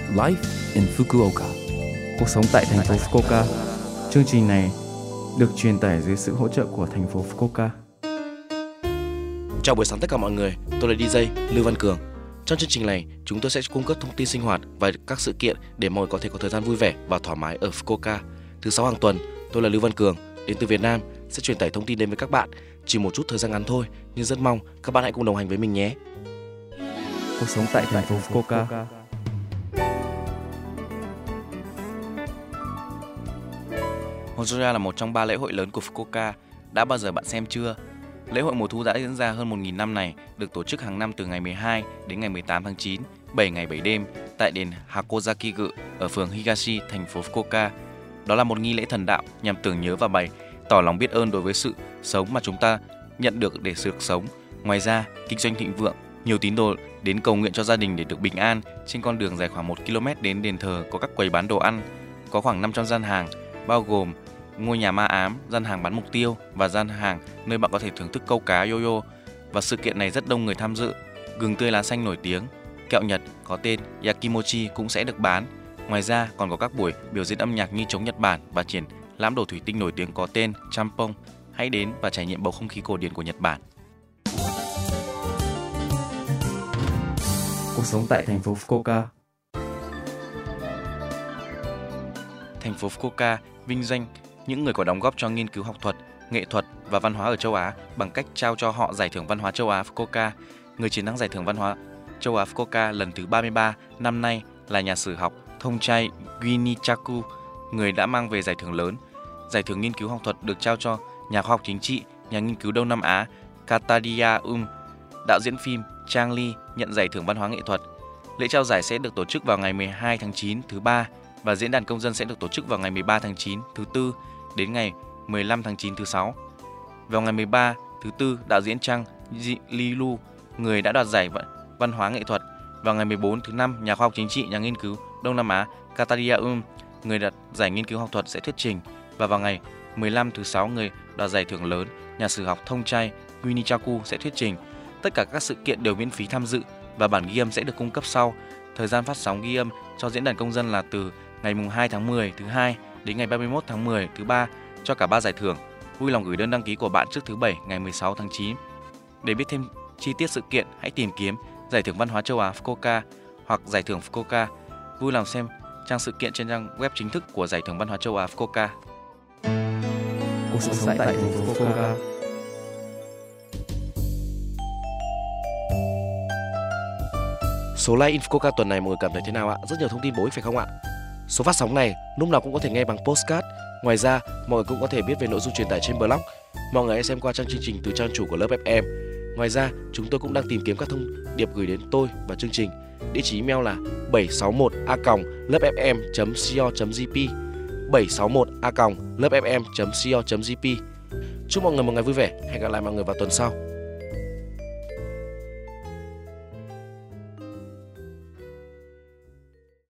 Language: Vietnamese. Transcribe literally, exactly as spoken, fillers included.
Life in Fukuoka. Cuộc sống tại thành phố Fukuoka. Chương trình này được truyền tải dưới sự hỗ trợ của thành phố Fukuoka. Chào buổi sáng tất cả mọi người, tôi là đi giây Lưu Văn Cường. Trong chương trình này, chúng tôi sẽ cung cấp thông tin sinh hoạt và các sự kiện để mọi người có thể có thời gian vui vẻ và thoải mái ở Fukuoka. Thứ sáu hàng tuần, tôi là Lưu Văn Cường, đến từ Việt Nam, sẽ truyền tải thông tin đến với các bạn. Chỉ một chút thời gian ngắn thôi, nhưng rất mong các bạn hãy cùng đồng hành với mình nhé. Cuộc sống tại thành phố Fukuoka. Honjora là một trong ba lễ hội lớn của Fukuoka. Đã bao giờ bạn xem chưa? Lễ hội mùa thu đã diễn ra hơn một nghìn năm này, được tổ chức hàng năm từ ngày mười hai đến ngày mười tám tháng chín, bảy ngày bảy đêm tại đền Hakozaki-gu ở phường Higashi, thành phố Fukuoka. Đó là một nghi lễ thần đạo nhằm tưởng nhớ và bày tỏ lòng biết ơn đối với sự sống mà chúng ta nhận được để được sống. Ngoài ra, kinh doanh thịnh vượng, nhiều tín đồ đến cầu nguyện cho gia đình để được bình an. Trên con đường dài khoảng một ki lô mét đến đền thờ có các quầy bán đồ ăn, có khoảng năm trăm gian hàng, bao gồm ngôi nhà ma ám, gian hàng bán mục tiêu và gian hàng nơi bạn có thể thưởng thức câu cá yo-yo. Và sự kiện này rất đông người tham dự. Gừng tươi lá xanh nổi tiếng, kẹo Nhật có tên Yakimochi cũng sẽ được bán. Ngoài ra còn có các buổi biểu diễn âm nhạc như trống Nhật Bản và triển lãm đồ thủy tinh nổi tiếng có tên Champong. Hãy đến và trải nghiệm bầu không khí cổ điển của Nhật Bản. Cuộc sống tại thành phố Fukuoka. Thành phố Fukuoka vinh danh những người có đóng góp cho nghiên cứu học thuật, nghệ thuật và văn hóa ở châu Á bằng cách trao cho họ giải thưởng văn hóa châu Á Fukuoka. Người chiến thắng giải thưởng văn hóa châu Á Fukuoka lần thứ ba mươi ba năm nay là nhà sử học Thongchai Guinichaku, người đã mang về giải thưởng lớn. Giải thưởng nghiên cứu học thuật được trao cho nhà khoa học chính trị, nhà nghiên cứu Đông Nam Á Kataria Um. Đạo diễn phim Chang Lee nhận giải thưởng văn hóa nghệ thuật. Lễ trao giải sẽ được tổ chức vào ngày mười hai tháng chín thứ ba và diễn đàn công dân sẽ được tổ chức vào ngày mười ba tháng chín thứ tư đến ngày mười lăm tháng chín thứ sáu. Vào ngày mười ba thứ tư, đạo diễn Chang Lilu, người đã đoạt giải văn hóa nghệ thuật. Vào ngày mười bốn thứ năm, nhà khoa học chính trị, nhà nghiên cứu Đông Nam Á Kataria Um, người đoạt giải nghiên cứu học thuật sẽ thuyết trình. Và vào ngày mười lăm thứ sáu, người đoạt giải thưởng lớn, nhà sử học Thongchai Guinichaku sẽ thuyết trình. Tất cả các sự kiện đều miễn phí tham dự và bản ghi âm sẽ được cung cấp sau. Thời gian phát sóng ghi âm cho diễn đàn công dân là từ ngày hai tháng mười thứ hai đến ngày ba mươi mốt tháng mười thứ ba cho cả ba giải thưởng. Vui lòng gửi đơn đăng ký của bạn trước thứ bảy ngày mười sáu tháng chín. Để biết thêm chi tiết sự kiện, hãy tìm kiếm giải thưởng văn hóa châu Á Fukuoka hoặc giải thưởng Fukuoka. Vui lòng xem trang sự kiện trên trang web chính thức của giải thưởng văn hóa châu Á Fukuoka. Cuộc sống tại thành phố Fukuoka. Số like in Fukuoka tuần này mọi người cảm thấy thế nào ạ? Rất nhiều thông tin bổ ích phải không ạ? Số phát sóng này lúc nào cũng có thể nghe bằng podcast. Ngoài ra, mọi người cũng có thể biết về nội dung truyền tải trên blog. Mọi người hãy xem qua trang chương trình từ trang chủ của lớp ép em. Ngoài ra, chúng tôi cũng đang tìm kiếm các thông điệp gửi đến tôi và chương trình. Địa chỉ email là bảy sáu một a còng lớp ép em chấm co chấm jp bảy sáu một a còng lớp ép em chấm co chấm jp. Chúc mọi người một ngày vui vẻ. Hẹn gặp lại mọi người vào tuần sau.